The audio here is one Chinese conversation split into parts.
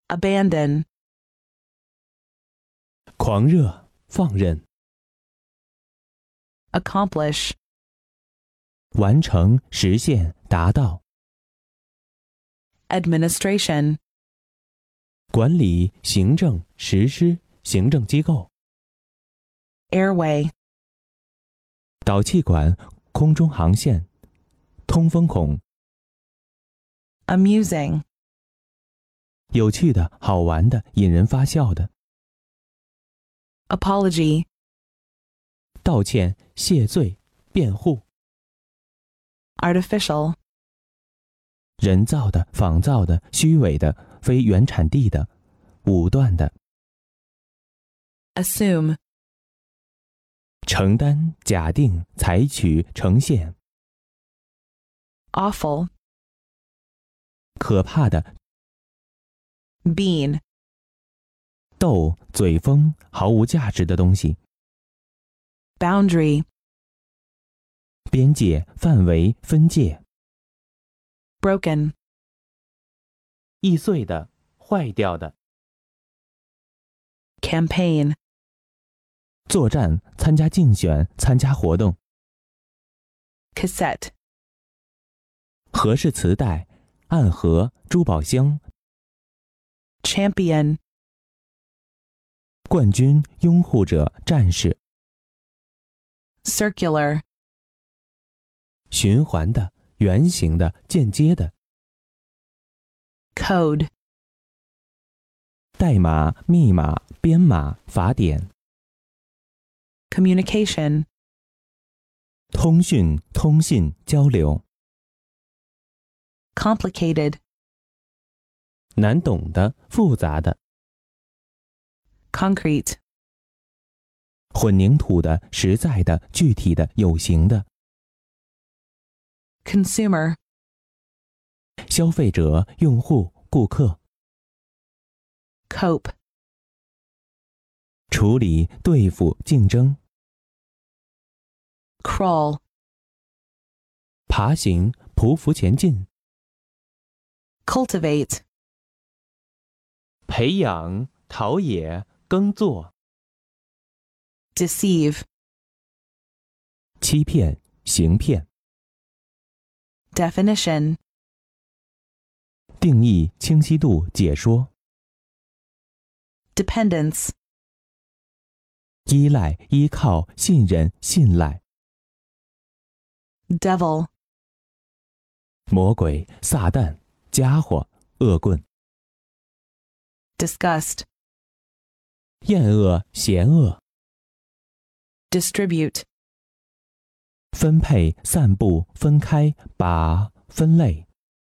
abandon, 狂热、放任、 accomplish, 完成、实现、达到、 administration, 管理、行政、实施、行政机构、 airway, 导气管、空中航线、通风孔、 amusing, 有趣的、好玩的、引人发笑的、 apology, 道歉、谢罪、辩护、 artificial, 人造的、仿造的、虚伪的、非原产地的、武断的、 assume, 承担、假定、采取、呈现、 awful, 可怕的、 bean, 逗、嘴风、毫无价值的东西、 boundary, 边界、范围、分界、 broken, 易碎的、坏掉的、 campaign, 作战、参加竞选、参加活动、 cassette, 和式磁带、暗盒、珠宝箱、 champion, 冠军、拥护者、战士、 circular, 循环的、圆形的、间接的、 code, 代码、密码、编码、法典、 communication, 通讯、通信、交流、 complicated, 难懂的、复杂的、 concrete, 混凝土的、实在的、具体的、有形的、 consumer, 消费者、用户、顾客、 cope, 处理、对付、竞争、 crawl, 爬行、匍匐前进、 cultivate, 培养、陶冶、耕作、 deceive, 欺骗、行骗、 definition, 定义、清晰度、解说、 dependence, 依赖、依靠、信任、信赖、 devil, 魔鬼、撒旦、家伙、恶棍、 disgust, 厌恶、嫌恶、 distribute, 分配、散布、分开、把、分类、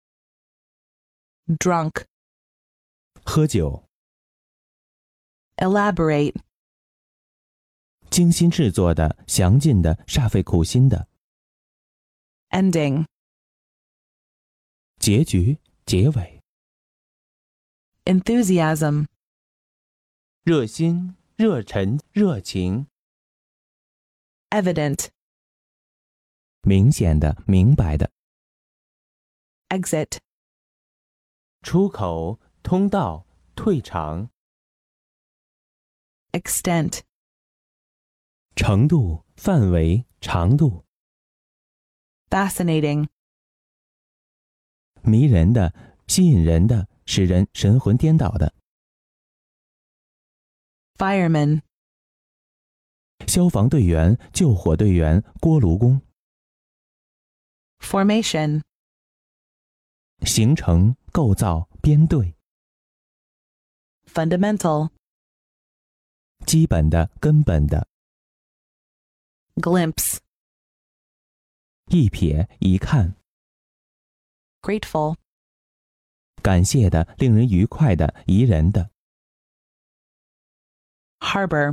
drunk, 喝酒、 elaborate, 精心制作的、详尽的、煞费苦心的、 ending, 结局、结尾、 enthusiasm, 热心、热忱、热情、 evident, 明显的、明白的、 exit, 出口、通道、退场、 extent, 程度、范围、长度、 fascinating, 迷人的、吸引人的、使人神魂颠倒的、 fireman, 消防队员、救火队员、锅炉工、 formation, 形成、构造、编队、 fundamental, 基本的、根本的、 glimpse, 一瞥、一看、 grateful, 感谢的、令人愉快的、宜人的、 harbor,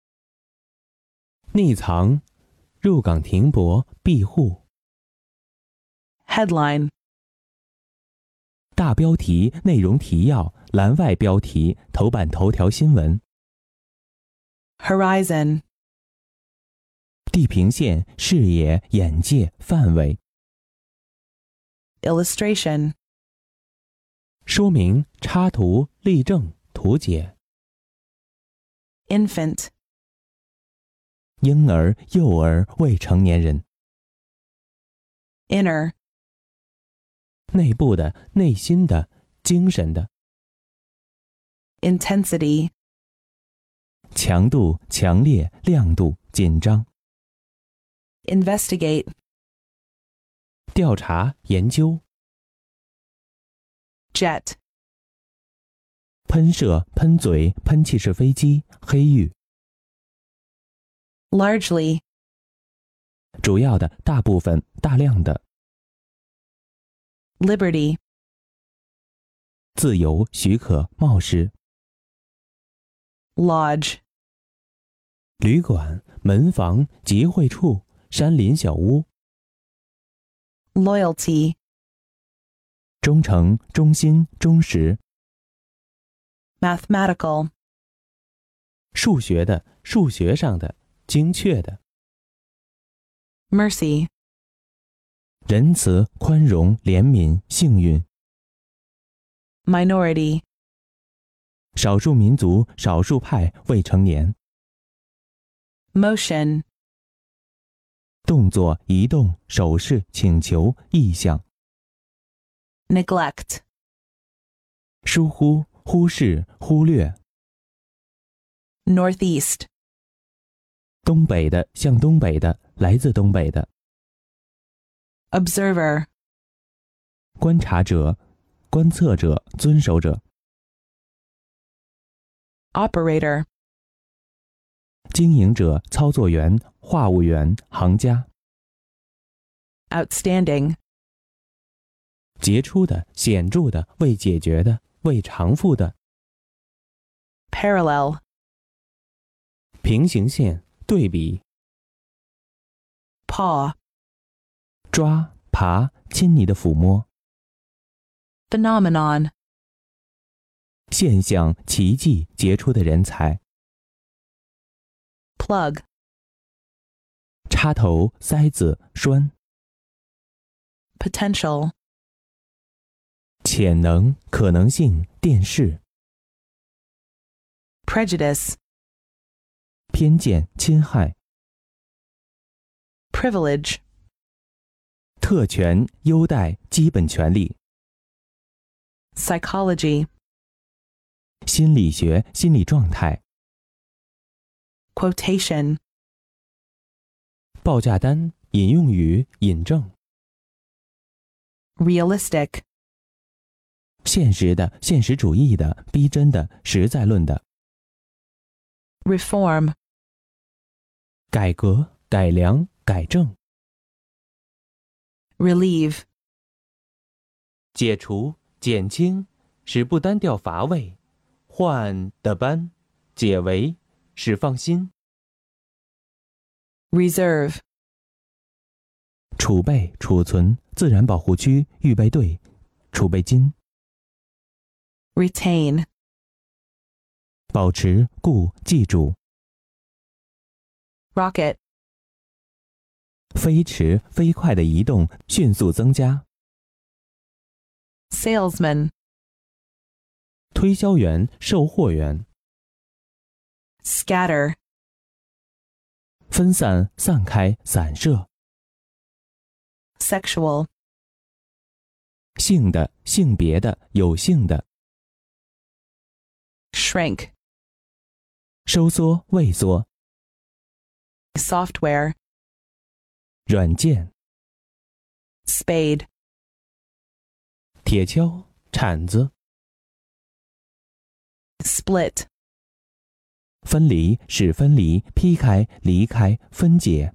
匿藏、入港停泊、庇护、 headline, 大标题、内容提要、栏外标题、头版头条新闻、 horizon, 地平线、视野、眼界、范围、 illustration, 说明、插图、例证、图解。 infant, 婴儿、幼儿、未成年人。 inner, 内部的、内心的、精神的。 intensity, 强度、强烈、亮度、紧张。 investigate, 调查、研究。 jet, 喷射、喷嘴、喷气式飞机、黑域。 largely, 主要的、大部分、大量的。 liberty, 自由、许可、冒失。 lodge, 旅馆、门房、集会处、山林小屋。 loyalty, 忠诚、忠心、忠实。 mathematical, 数学的、数学上的、精确的。 mercy, 仁慈、宽容、怜悯、幸运。 minority, 少数民族、少数派、未成年。 motion, 动作、移动、手势、请求、意向。 neglect, 疏忽、忽视、忽略。 northeast, 东北的、向东北的、来自东北的。 observer, 观察者、观测者、遵守者。 operator, 经营者、操作员、话务员、行家。 outstanding, 杰出的、显著的、未解决的、未偿付的。 parallel, 平行线、对比。 paw, 抓、爬、亲昵的抚摸。 phenomenon, 现象、奇迹、杰出的人才。 plug, 插头、塞子、栓。 potential, 潜能、可能性、电视。 prejudice, 偏见、侵害。 privilege, 特权、优待、基本权利。 psychology, 心理学、心理状态。 quotation, 报价单、引用语、引证。 realistic, 现实的、现实主义的、逼真的、实在论的。 reform, 改革、改良、改正。 relieve, 解除、减轻，使不单调乏味，换的班，解围，使放心。 reserve, 储备、储存、自然保护区、预备队、储备金。 retain, 保持、固、记住。 rocket, 飞驰、飞快的移动，迅速增加。 salesman, 推销员、售货员。 scatter, 分散、散开、散射。 sexual, 性的、性别的、有性的。 shrink, 收缩、畏缩。 software, 软件。 spade, 铁锹、铲子。 split, 分离、使分离、劈开、离开、分解。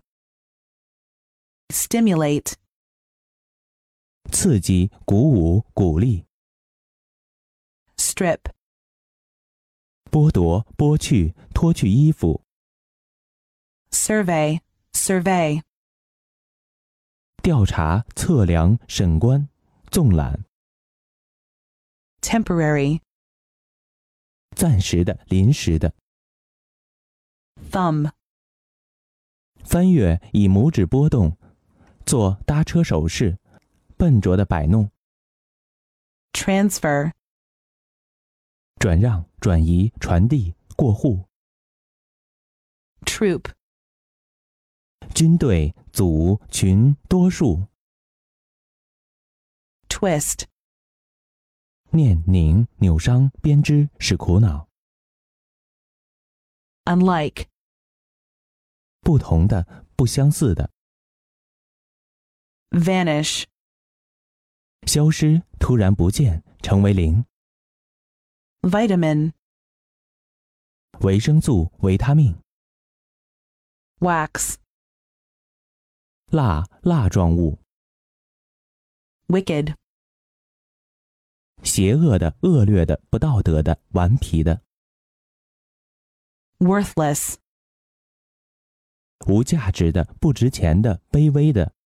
stimulate, 刺激、鼓舞、鼓励。 strip, 剥夺、剥去、脱去衣服。 survey, survey, 调查、测量、审观、纵览。 temporary, 暂时的、临时的。 thumb, 翻阅，以拇指拨动，做搭车手势，笨拙的摆弄。 transfer, 转让、转移、传递、过户。 troop, 军队、组、群、多数。 twist, 念、拧、扭伤、编织，使苦恼。 unlike, 不同的，不相似的。 vanish, 消失，突然不见，成为零。 vitamin, 维生素、维他命。 wax, 蜡状物。 wicked, 邪恶的、恶劣的、不道德的、顽皮的。 worthless, 无价值的、不值钱的、卑微的。